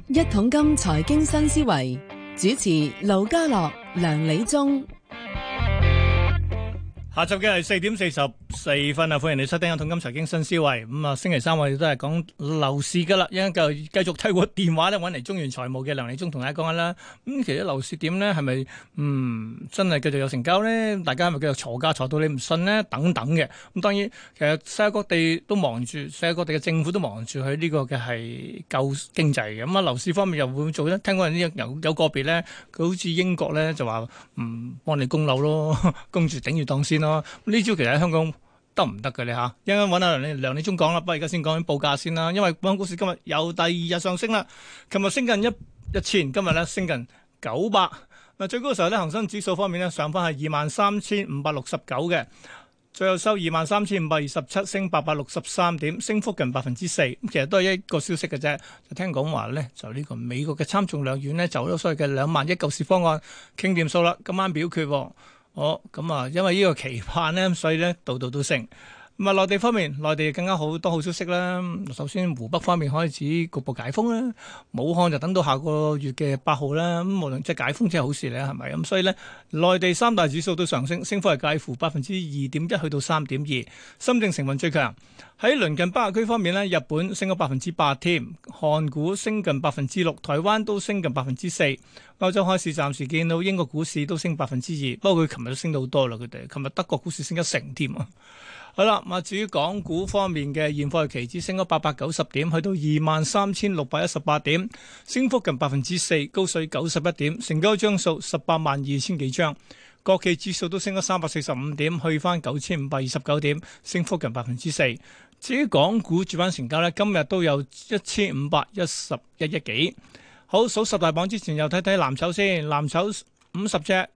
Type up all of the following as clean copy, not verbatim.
一桶金財經新思維，主持盧家樂、梁理中。 下晝嘅係4:44啊！歡迎你收聽《一桶金財經新思維》。咁星期三我哋都係講樓市噶啦，一陣間繼續透過電話咧揾嚟中原財務嘅梁理中同大家講下啦。其實樓市點咧？係咪真係繼續有成交咧？大家係咪繼續鋤價鋤到你唔信咧？等等嘅。咁當然，其實世界各地都忙住，世界各地嘅政府都忙住喺呢個嘅係救經濟嘅。咁樓市方面又會做咧？聽講有個別咧，佢好似英國咧就話幫你供樓咯，供住頂住檔先咯。呢招其實喺香港得唔得嘅咧嚇？一陣間揾下梁理中講啦，不過而家先講緊報價先啦。因為本港股市今日有第二日上升啦，琴日升近一千，今日咧升近900。嗱，最高嘅時候咧，恒生指數方面咧上翻係23,569嘅，最後收23,527，升863點，升幅近4%。其實都係一個消息嘅啫，就聽講話咧，就呢個美國嘅參眾兩院咧就咗所謂嘅2萬億救市方案傾掂數啦，今晚表決。咁啊，因為呢個期盼咧，所以咧度度都升。咁啊，內地方面，內地更加好多好消息啦。首先，湖北方面開始局部解封啦，武漢就等到下個月嘅8號啦。咁無論即係解封，即係好事咧，係咪？咁所以咧，內地三大指數都上升，升幅係介乎2.1%去到3.2%。深證成分最強。喺鄰近北亞區方面咧，日本升咗8%添，韓股升近6%，台灣都升近4%。歐洲開市暫時見到英國股市都升2%，不過佢琴日都升到好多啦。佢哋琴日德國股市升1成添啊！好啦，咁至於港股方面嘅現貨期指升咗890點，去到23,618點，升幅近4%，高水91點，成交張數182000幾張。國企指數都升咗345點，去翻9529點，升幅近4%。至於港股主板成交呢，今日都有1511億幾。好，數十大榜之前又睇睇藍籌先，藍籌50隻，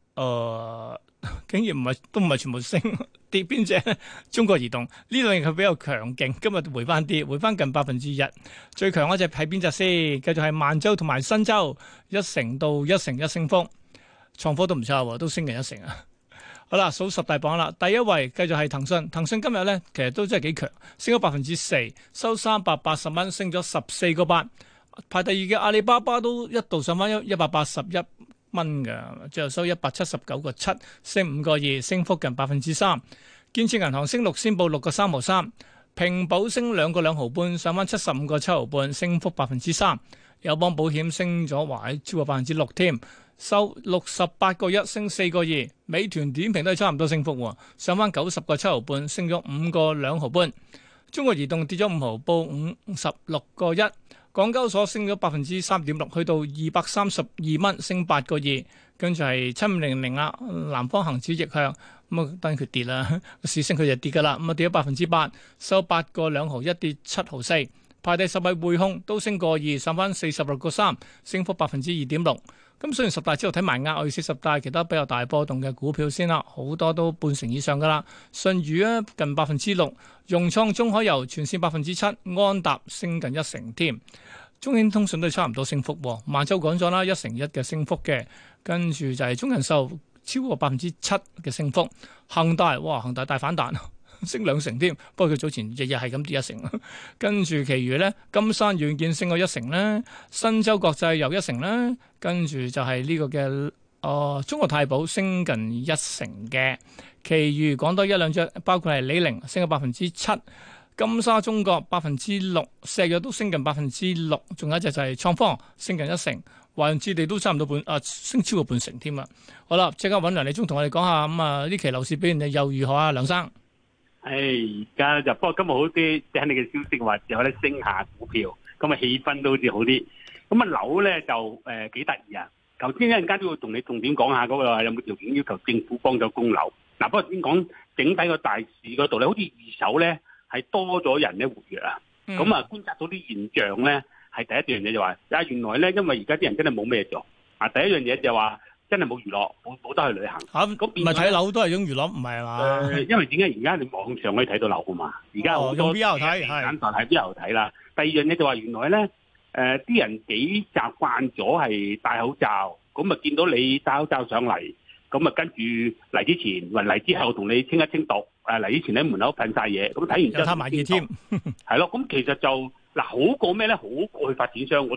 竟然都唔係全部升，跌邊隻？中國移動呢兩日佢比較強勁，今日回翻啲，回翻近1%。最強嗰隻係邊隻先？繼續係萬洲同埋新洲，1成到1成1升幅，創科都唔差喎，都升近1成啊！好啦，數十大榜啦，第一位繼續係騰訊，騰訊今日咧其實都真係幾強，升咗4%，收380蚊，升咗14個8。排第二嘅阿里巴巴都一度上翻181蚊嘅，最後收179個7，升5個2，升幅近3%。建設銀行升6仙報6個3毫3，平保升2個2毫半，上翻75個7毫半，升幅3%。友邦保險升咗超過6%添，收68個1，升4個2。美團點評都係差唔多升幅，上翻90個7毫半，升咗5個2毫半。中國移動跌咗5毫，報56個1。港交所升咗3.6%，去到232蚊，升8個2。跟住係7500啦，南方恒指逆向，咁啊當然佢跌啦，市升佢就跌噶啦，咁啊跌咗8%，收8個2毫1，跌7毫4。排第10位匯控都升個2，上翻46個3，升幅2.6%。咁雖然十大之後睇埋額外40大其他比較大波動嘅股票先啦，好多都半成以上噶啦。舜宇啊近6%，融創、中海油全線7%，安踏升近1成添。中興通訊都係差唔多升幅，萬洲講咗啦，1成1嘅升幅嘅，跟住就係中人壽超過7%嘅升幅。恒大恒大大反彈，升2成添，不過佢早前日日係咁跌1成。跟住其餘咧，金山軟件升咗1成啦，新洲國際又1成啦，跟住就係呢個嘅中國太保升近1成嘅，其餘講多一兩隻，包括係李寧升咗7%。金沙中國6%，石藥都升近6%，仲有一隻就係創科升近1成，華潤置地都差唔多升超過半成添啊！好啦，即刻揾梁理中同我哋講下呢期樓市表現又如何啊？梁生， 而家就不過今日好啲，聽你嘅消息話有得升下股票，咁啊氣氛都好似好啲。咁啊樓咧就幾得意啊！頭先一陣間都要同你重點講下嗰個有冇條件要求政府幫咗供樓。嗱，不過先講整體個大市嗰度咧，好似二手咧。係多咗人咧活躍啊！咁觀察到啲現象咧，係第一樣嘢就話，原來咧，因為而家啲人真係冇咩做啊！第一樣嘢就話真係冇娛樂，冇得去旅行。咁唔係睇樓都係種娛樂，唔係嘛？ 因為點解而家你網上可以睇到樓啊嘛？而家好多用 VR 睇， 簡單睇 VR 睇啦。第二樣嘢就話原來咧，啲人幾習慣咗係戴口罩，咁啊見到你戴口罩上嚟。咁啊，跟住嚟之前，嚟之後同你清一清毒。嚟之前喺門口噴晒嘢，咁睇完之後， 有攤埋嘢添。 係咯，咁其實就好過咩咧？好過去發展商嗰度啩。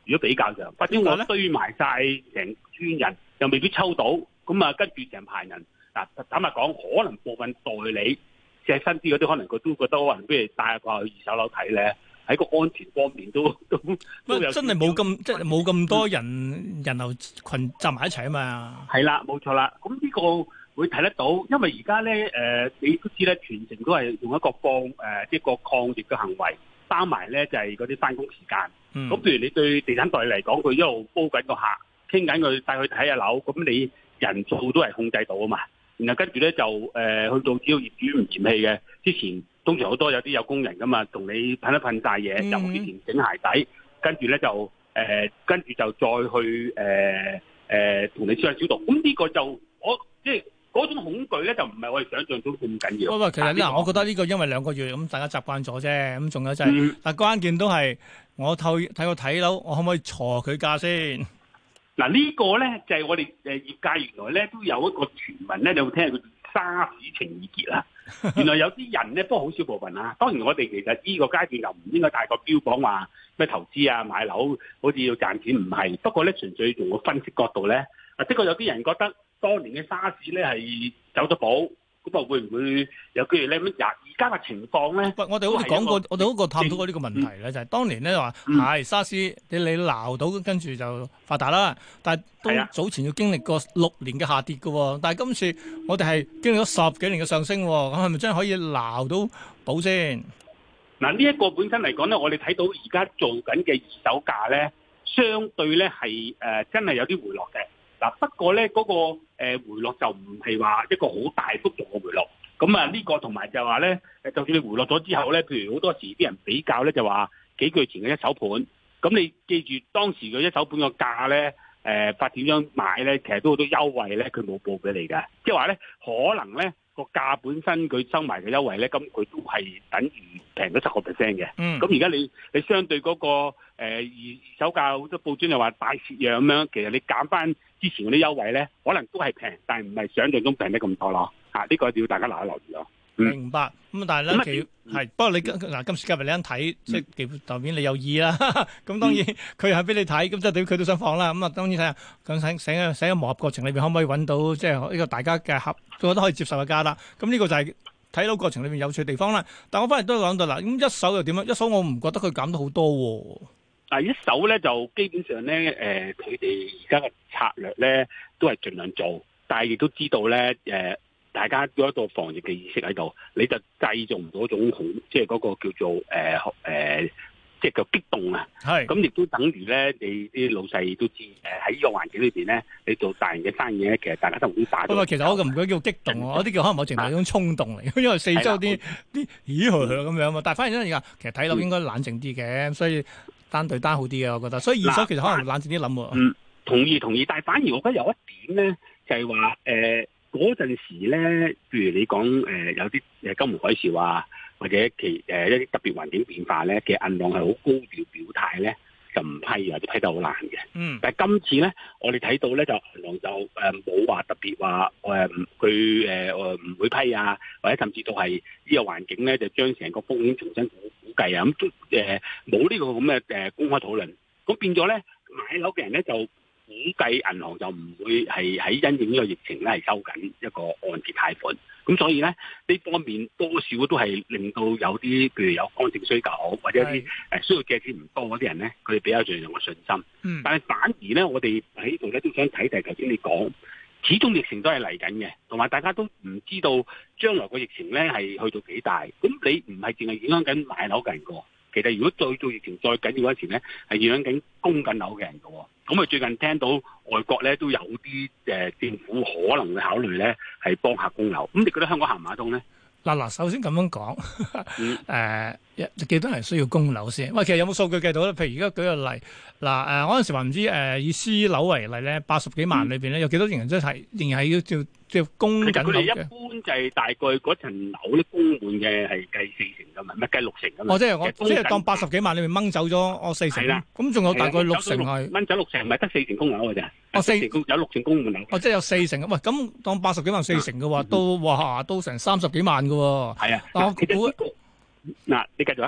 如果比較上，或者我堆埋晒成村人，又未必抽到，咁啊跟住成排人嗱，坦白講，可能部分代理即係新啲嗰啲，可能佢都覺得可能不如帶過去二手樓睇咧，喺個安全方面都有真係冇咁即係冇咁多人流群集埋一齊啊嘛。係啦，冇錯啦。咁呢個會睇得到，因為而家咧你都知咧，全程都係用一個即係個抗疫嘅行為，包埋咧就係嗰啲翻工時間。咁譬如你對地產代理嚟講，佢一路煲緊個客，傾緊佢帶佢睇下樓，咁你人數都係控制到啊嘛。然後跟住咧就去到只要業主唔嫌棄嘅，之前通常好多有啲有工人噶嘛，同你噴一噴晒嘢，由之前整鞋底，跟住咧就跟住就再去同你消下消毒。咁呢個就我即係嗰種恐懼咧，就唔係我哋想象中咁緊要。 喂，其實嗱，我覺得呢個因為2個月咁，大家習慣咗啫。咁仲有就係，但關鍵都係我睇樓，我可唔可以鋤佢價先？ 嗱呢個咧就係我哋業界原來咧都有一個傳聞咧，你有冇聽過沙士情意結啦？原來有啲人咧，不過好少部分啦。當然我哋其實呢個階段又唔應該太過標榜話咩投資啊買樓好似要賺錢，唔係。不過咧純粹從個分析角度咧，的確有啲人覺得當年嘅沙士咧係走咗寶。咁啊，會唔會有機會咧？而家嘅情況咧？ 喂，我哋好似講過，我哋好過探討過呢個問題咧，就係當年咧話係沙士，你鬧到跟住就發達啦。但係都早前要經歷過6年嘅下跌嘅，但係今次我哋係經歷咗10幾年嘅上升，咁係咪真係可以鬧到寶先？ 嗱，呢一個本身嚟講咧，我哋睇到而家做緊嘅二手價咧，相對咧係真係有啲回落嘅。嗱，不過咧嗰個回落就唔係話一個好大幅度嘅回落，咁啊呢個同埋就話咧，就算你回落咗之後咧，譬如好多時啲人比較咧就話幾個月前嘅一手盤，咁你記住當時嘅一手盤個價咧，發展商買咧，其實都好多優惠咧，佢冇報俾你㗎，即係話咧可能咧個價本身佢收埋嘅優惠咧，咁佢都係等於平咗10%嘅。咁而家你相對嗰個二手價好多報章又話大蝕讓咁樣，其實你減翻之前嗰啲優惠咧，可能都係平，但係唔係想象中平得咁多咯。呢個要大家留意咯。 明白。咁但係咧，係不過你嗱今時今日你一睇，即係幾代表你有意啦。咁當然佢係俾你睇，咁即係對佢都想放啦。咁啊當然睇下咁喺個磨合過程裏邊可唔可以揾到即係呢個大家嘅覺得可以接受嘅價啦。咁呢個就係睇到過程裏邊有趣嘅地方啦。但我翻嚟都講到啦，咁一手又點樣？一手我唔覺得佢減得好多喎。 一手咧就基本上咧，佢哋而家嘅策略咧都係盡量做，但係亦都知道咧，大家有一個防疫嘅意識喺度，你就製造唔到一種好，即係嗰個叫做即係叫激動啊。係。咁亦都等於咧，你啲老細都知，喺呢個環境裏邊咧，你做大型嘅生意咧，其實大家都唔會打。不過其實我唔覺得叫激動，我啲叫可能某程度係一種衝動嚟，因為四周啲咦咁樣嘛。但係反而咧而家其實睇樓應該冷靜啲嘅，所以單對單好啲嘅，我覺得。所以二手其實可能冷靜啲諗喎。 同意。但係反而我覺得有一點咧，就係話嗰陣時咧，譬如你講有啲金融海嘯啊，或者一啲特別環境變化咧，其實銀行係好高調表態咧，就唔批或者批得好難嘅。但係今次咧，我哋睇到咧就銀行就冇話特別話佢唔會批啊，或者甚至到係呢個環境咧就將成個風險重新估計啊，咁冇呢個咁嘅公開討論，咁變咗咧買樓嘅人咧就估計銀行就唔會係喺因應呢個疫情咧係收緊一個按揭貸款，咁所以咧呢方面多少都係令到有啲譬如有剛性需求或者一啲需要借錢唔多嗰啲人咧，佢哋比較上有個信心。但係反而咧，我哋喺呢度咧都想睇就係頭先你講，始終疫情都係嚟緊嘅，同埋大家都唔知道將來個疫情咧係去到幾大，咁你唔係淨係影響緊買樓嘅人個。其實如果再做疫情再緊要嗰時咧，係影響緊供緊樓嘅人嘅喎。咁啊最近聽到外國咧都有啲政府可能會考慮咧係幫客供樓。咁你覺得香港行唔行得通咧？ 嗱，首先咁樣講，幾多人需要供樓先？喂，其實有冇數據計到咧？譬如而家舉個例，嗱嗰陣時話唔知以私樓為例咧，80幾萬裏邊咧有幾多人真係仍然係要即供緊樓嘅？佢哋一般就係大概嗰層樓咧供滿嘅係計40成㗎嘛，唔係計60成㗎嘛。即係我即係當80幾萬裏面掹走咗我4成啦。咁仲有大概6成係掹走6成，唔係得4成供樓㗎咋？有6成供滿樓。 即係有4成。喂，咁當80幾萬4成嘅話，都成30幾萬㗎喎。 係啊。嗱，你繼續啊。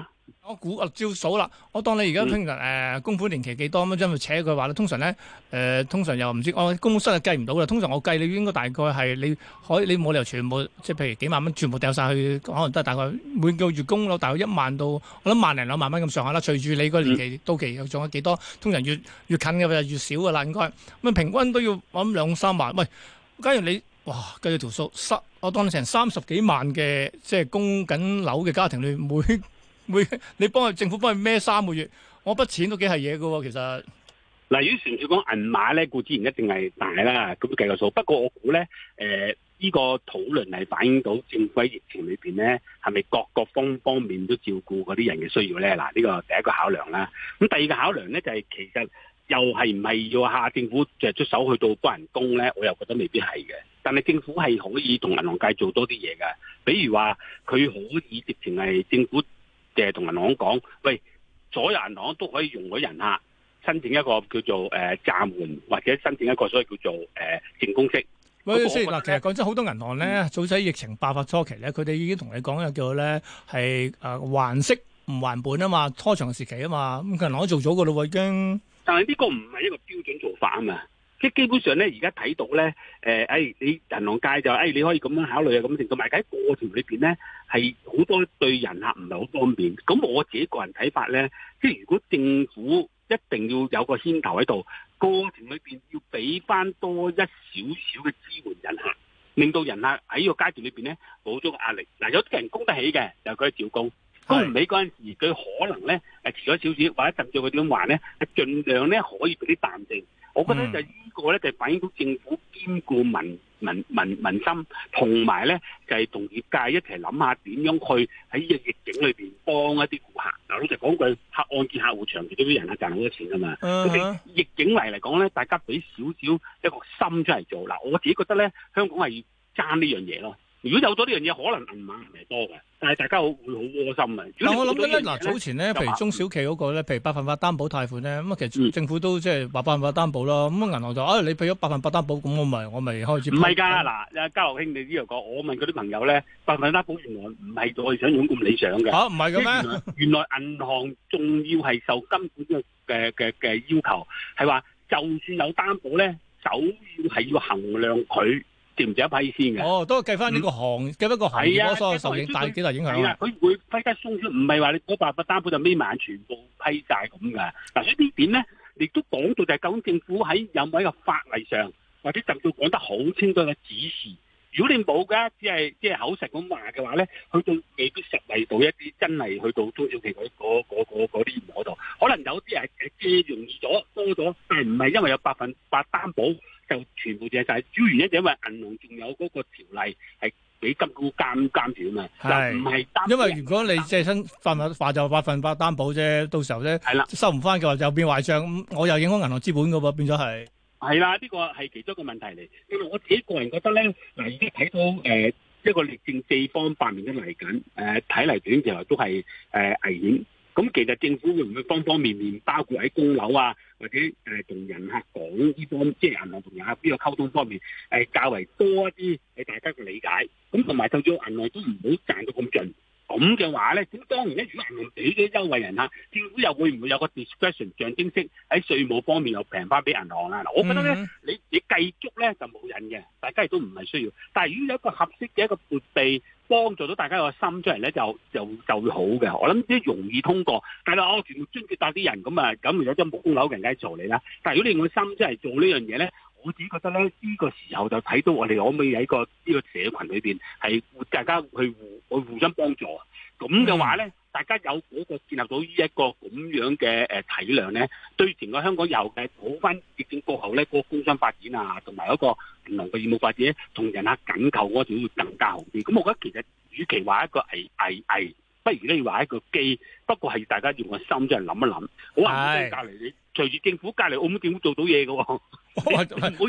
我估啊，照數啦。我當你而家聽日供款年期幾多咁樣，扯佢話咧，通常咧通常又唔知我公司係計唔到嘅。通常我計你應該大概係你冇理由全部即係譬如幾萬蚊全部掉晒去，可能都係大概每個月供到大概1萬到我諗萬零2萬蚊咁上下啦。隨住你個年期到期又仲有幾多，通常越近嘅就越少噶啦，應該咁平均都要我諗2-3萬。喂，假如你哇計咗條數，我當你成30幾萬嘅即係供緊樓嘅家庭裏你政府幫佢孭3個月，我筆錢都幾係嘢噶喎，其實。 嗱，如果純粹講銀碼咧，固之然一定係大啦，咁計個數。不過我估咧，呢個討論係反映到政府喺疫情裏邊咧，係咪各個方面都照顧嗰啲人嘅需要咧？嗱，呢個第一個考量啦。咁第二個考量咧就係其實又係唔係要下政府就出手去到幫人供咧？我又覺得未必係嘅。但係政府係可以同銀行界做多啲嘢嘅，比如話佢可以直情係政府。同銀行講，喂，所有銀行都可以容許人客申請一個叫做暫緩，或者申請一個所謂叫做淨供息。 喂，先嗱，其實講真，好多銀行咧，早喺疫情爆發初期咧，佢哋已經同你講嘅叫咧係還息唔還本啊嘛，拖長時期啊嘛，咁銀行都做咗噶咯喎已經。但係呢個唔係一個標準做法啊嘛。即係基本上咧，而家睇到咧，你銀行界就你可以咁樣考慮啊，咁成，同埋喺過程裏邊咧，係好多對人客唔係好方便。咁我自己個人睇法咧，即係如果政府一定要有個牽頭喺度，過程裏邊要俾翻多一少少嘅支援人客，令到人客喺呢個階段裏邊咧冇咗個壓力。嗱，有啲人供得起嘅，就佢照供；供唔起嗰陣時，佢可能咧遲咗少少，或者甚至佢點話咧，係盡量咧可以俾啲彈性。我覺得就呢個咧，就反映到政府兼顧民心，同埋咧就係同業界一齊諗下點樣去喺呢個逆境裏邊幫一啲顧客。嗱，老實講句，按揭客戶長期都俾人客賺好多錢噶嘛。咁你逆境嚟講咧，大家俾少少一個心出嚟做。嗱，我自己覺得咧，香港係要爭呢樣嘢咯。如果有咗呢樣嘢，可能銀碼唔係多嘅，但係大家會好窩心啊！ 但我諗緊咧，嗱早前咧，譬如中小企嗰個咧，譬如100%擔保貸款咧，咁其實政府都即係100%擔保啦。咁銀行就你俾咗100%擔保，咁我咪開始。唔係㗎，嗱，家樂兄你呢度講，我問嗰啲朋友咧，100%擔保原來唔係我哋想象咁理想嘅。嚇，唔係嘅咩？原來銀行仲要係受金管嘅要求，係話就算有擔保咧，首要係要衡量佢。值唔值一批先嘅？都計翻呢個計翻個行業嗰所有受影大幾大影響。係啊，佢會批得鬆出，唔係話你嗰100%擔保就孭埋全部批晒咁㗎。嗱，所以呢點咧，亦都講到就係究竟政府喺有冇一個法例上，或者甚至講得好清楚嘅指示。如果你冇㗎，只係即係口實咁話嘅話咧，去到未必實惠到一啲真係去到中小企嗰啲嗰度，可能有啲係借容易咗多咗，但係唔係因為有100%擔保。就全部借晒，主要原因就因為銀行仲有嗰個條例係俾金管局監住啊嘛，就唔係擔。因為如果你借親話就100%擔保啫，到時候咧收唔翻嘅話就變壞帳，咁我又影響銀行資本嘅喎，變咗係。係啦，呢個係其中一個問題嚟。因為我自己個人覺得咧，嗱而家睇到一個歷政四方8面都嚟緊，睇嚟短期內都係危險。咁其實政府會唔會方方面面，包括喺供樓啊，或者同人客講呢方，即係銀行同人客呢個溝通方面，較為多一啲係大家嘅理解。咁同埋就叫銀行都唔好賺到咁盡。咁嘅話咧，咁當然咧，如果銀行俾咗優惠人客，政府又會唔會有個 discretion 象徵式喺稅務方面又平翻俾銀行啊？嗱，我覺得咧，你計足咧就冇癮嘅，大家亦都唔係需要。但係如果有一個合適嘅一個撥備，幫助到大家個心出嚟咧，就會好嘅。我諗啲容易通過，但係我全部津貼帶啲人咁啊，咁有啲冇供樓嘅人梗係嘈你啦。但係如果你用個心出嚟做呢樣嘢咧，我自己覺得咧，呢個時候就睇到我哋可唔可以喺呢個社群裏邊係大家去互相幫助。咁嘅話咧，大家有嗰個建立到呢一個咁樣嘅體諒咧，對整個香港有嘅好翻疫情過後咧，嗰個工商發展啊，同埋嗰個銀行嘅業務發展，同人客緊扣嗰種會更加好啲。咁我覺得其實與其話一個危，不如咧要話一個機。不過係大家用個心真係諗一諗。好話隔離你隨住政府隔離澳門政府做到嘢嘅喎。澳門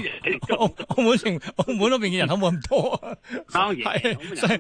嗰邊嘅人口冇咁多，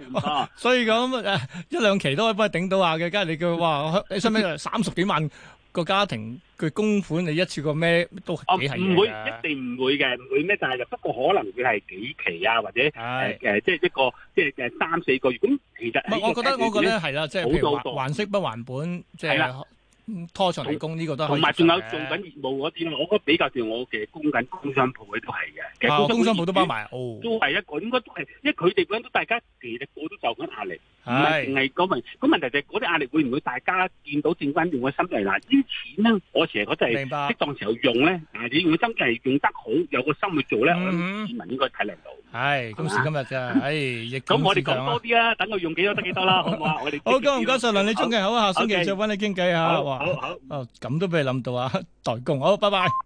所以咁1-2期都可以幫你頂到下嘅。梗係你叫話你使唔使30幾萬個家庭佢供款你一次過咩都幾係嘢唔會， 㗎一定唔會嘅，唔會咩？但係就不過可能佢係幾期啊，或者即係一個即係3-4個月。咁其實唔係，我覺得係啦，即係譬如還息不還本，即係拖長嚟供呢個都可以。 同埋仲有做緊業務嗰啲咯，我覺得比較似我嘅供緊工商鋪嗰啲都係嘅。其實工商鋪都包埋， 都係一個應該都係，因為佢哋嗰陣都大家其實個都受緊壓力，唔係係淨係嗰問。咁問題就係嗰啲壓力會唔會大家見到正關用嘅心嚟嗱？啲錢咧，我成日覺得係明白適當時候用咧，你用嘅心係用得好，有個心去做咧，我諗市民應該體諒到。 係今時今日啫，亦咁我哋講多啲啦，等佢用幾多得幾多啦，好唔好啊？我哋好，唔該晒梁理中嘅，好，下星期再揾你傾偈嚇。 好。 咁都俾你諗到啊，代工好，拜拜。